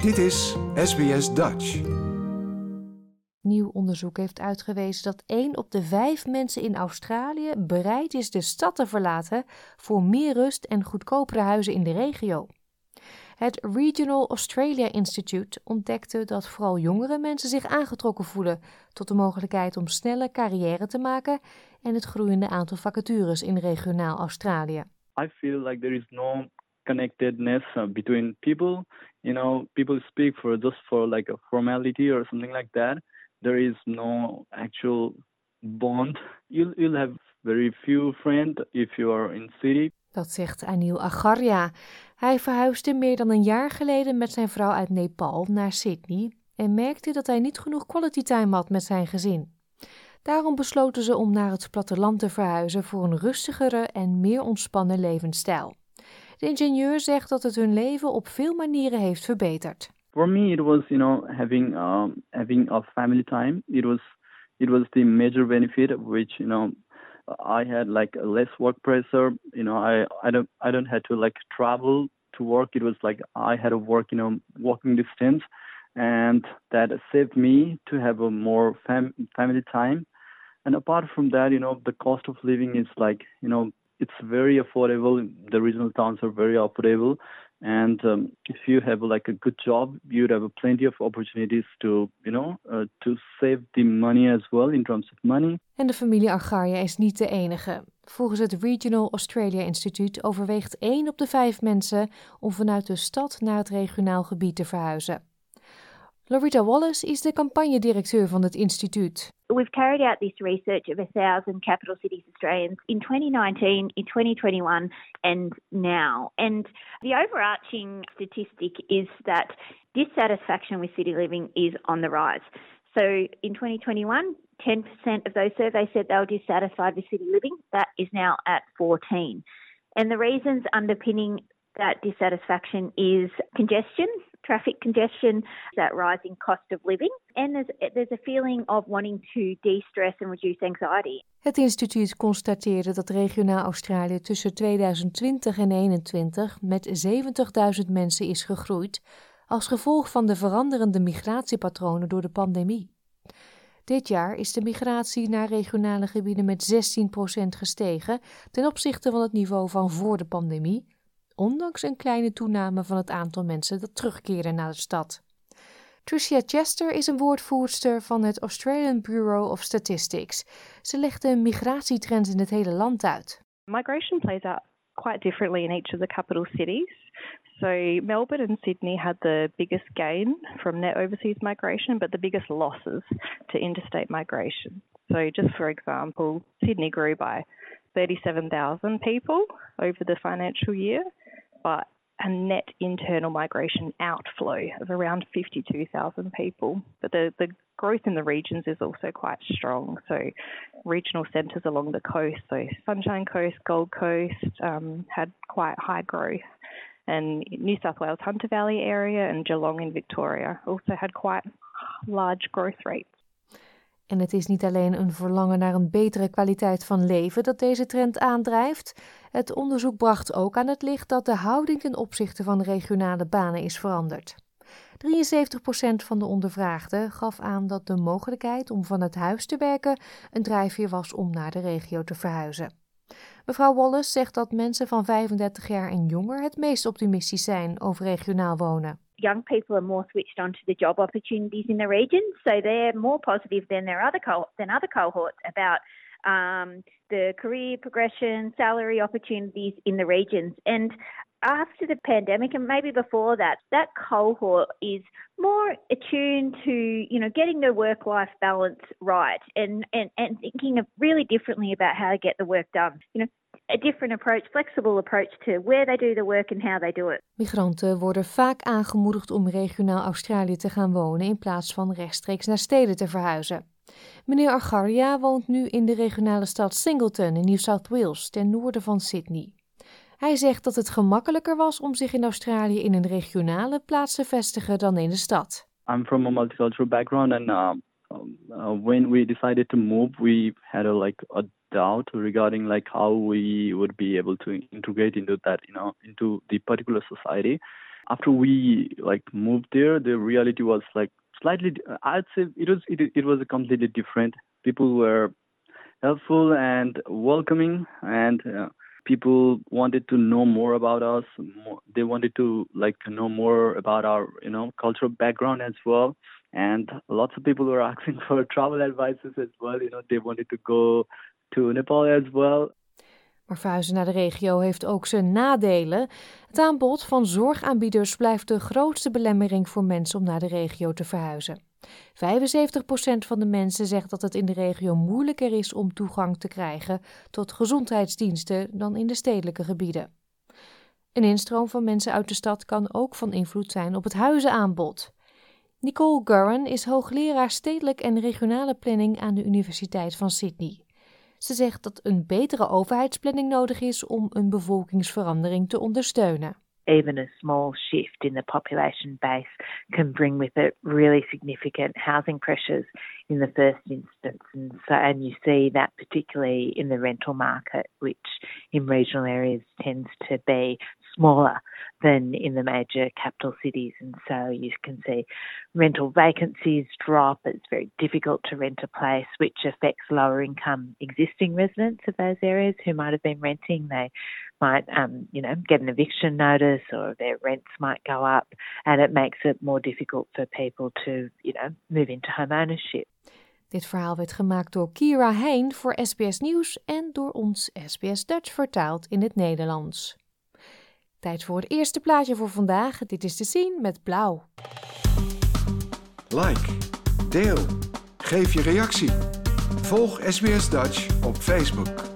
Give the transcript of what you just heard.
Dit is SBS Dutch. Nieuw onderzoek heeft uitgewezen dat 1 op de 5 mensen in Australië bereid is de stad te verlaten voor meer rust en goedkopere huizen in de regio. Het Regional Australia Institute ontdekte dat vooral jongere mensen zich aangetrokken voelen tot de mogelijkheid om snelle carrière te maken en het groeiende aantal vacatures in regionaal Australië. I feel like there is no connectedness between people. You know, people speak just for like a formality or something like that. There is no actual bond. You'll have very few friends if you are in city. Dat zegt Anil Agarya. Hij verhuisde meer dan een jaar geleden met zijn vrouw uit Nepal naar Sydney en merkte dat hij niet genoeg quality time had met zijn gezin. Daarom besloten ze om naar het platteland te verhuizen voor een rustigere en meer ontspannen levensstijl. De ingenieur zegt dat het hun leven op veel manieren heeft verbeterd. For me, it was, having a family time. It was the major benefit, which, I had like less work pressure. I don't have to like travel to work. It was like I had to work, walking distance, and that saved me to have a more family time. And apart from that, the cost of living is like, it's very affordable. The regional towns are very affordable. And if you have like a good job, you'd have plenty of opportunities to save the money as well in terms of money. En de familie Agarya is niet de enige. Volgens het Regional Australia Institute overweegt 1 op de 5 mensen om vanuit de stad naar het regionaal gebied te verhuizen. Loretta Wallace is de campagnedirecteur van het instituut. We've carried out this research of 1,000 capital cities Australians in 2019, in 2021 and now. And the overarching statistic is that dissatisfaction with city living is on the rise. So in 2021, 10% of those surveys said they were dissatisfied with city living. That is now at 14%. And the reasons underpinning that dissatisfaction is congestion, traffic congestion, that rising cost of living, and there's a feeling of wanting to de-stress and reduce anxiety. Het instituut constateerde dat regionaal Australië tussen 2020 en 2021 met 70.000 mensen is gegroeid als gevolg van de veranderende migratiepatronen door de pandemie. Dit jaar is de migratie naar regionale gebieden met 16% gestegen ten opzichte van het niveau van voor de pandemie, ondanks een kleine toename van het aantal mensen dat terugkeren naar de stad. Tricia Chester is een woordvoerster van het Australian Bureau of Statistics. Ze legt de migratietrends in het hele land uit. Migration plays out quite differently in each of the capital cities. So Melbourne and Sydney had the biggest gain from net overseas migration, but the biggest losses to interstate migration. So just for example, Sydney grew by 37,000 people over the financial year, but a net internal migration outflow of around 52,000 people. But the growth in the regions is also quite strong. So regional centres along the coast, so Sunshine Coast, Gold Coast, had quite high growth. And New South Wales Hunter Valley area and Geelong in Victoria also had quite large growth rates. En het is niet alleen een verlangen naar een betere kwaliteit van leven dat deze trend aandrijft. Het onderzoek bracht ook aan het licht dat de houding ten opzichte van regionale banen is veranderd. 73% van de ondervraagden gaf aan dat de mogelijkheid om vanuit huis te werken een drijfveer was om naar de regio te verhuizen. Mevrouw Wallace zegt dat mensen van 35 jaar en jonger het meest optimistisch zijn over regionaal wonen. Young people are more switched on to the job opportunities in the region, so they're more positive than other cohorts about the career progression, salary opportunities in the regions. And after the pandemic, and maybe before that cohort is more attuned to, getting their work-life balance right and thinking of really differently about how to get the work done. A different approach, flexible approach to where they do the work and how they do it. Migranten worden vaak aangemoedigd om regionaal Australië te gaan wonen in plaats van rechtstreeks naar steden te verhuizen. Meneer Agarya woont nu in de regionale stad Singleton in New South Wales, ten noorden van Sydney. Hij zegt dat het gemakkelijker was om zich in Australië in een regionale plaats te vestigen dan in de stad. I'm from a multicultural background, and when we decided to move, we had a doubt regarding how we would be able to integrate into that, into the particular society. after we moved there, the reality was slightly. I'd say it was a completely different. People were helpful and welcoming, and people wanted to know more about us. They wanted to know more about our cultural background as well. And lots of people were asking for travel advices as well. They wanted to go to Nepal as well. Maar verhuizen naar de regio heeft ook zijn nadelen. Het aanbod van zorgaanbieders blijft de grootste belemmering voor mensen om naar de regio te verhuizen. 75% van de mensen zegt dat het in de regio moeilijker is om toegang te krijgen tot gezondheidsdiensten dan in de stedelijke gebieden. Een instroom van mensen uit de stad kan ook van invloed zijn op het huizenaanbod. Nicole Gurran is hoogleraar stedelijk en regionale planning aan de Universiteit van Sydney. Ze zegt dat een betere overheidsplanning nodig is om een bevolkingsverandering te ondersteunen. Even a small shift in the population base can bring with it really significant housing pressures in the first instance. And you see that particularly in the rental market, which in regional areas tends to be smaller than in the major capital cities. And so you can see rental vacancies drop. It's very difficult to rent a place, which affects lower income existing residents of those areas who might have been renting. They might, get an eviction notice, or their rents might go up, and it makes it more difficult for people to, move into home ownership. Dit verhaal werd gemaakt door Kira Heijn voor SBS Nieuws en door ons SBS Dutch vertaald in het Nederlands. Tijd voor het eerste plaatje voor vandaag. Dit is te zien met blauw. Like, deel, geef je reactie. Volg SBS Dutch op Facebook.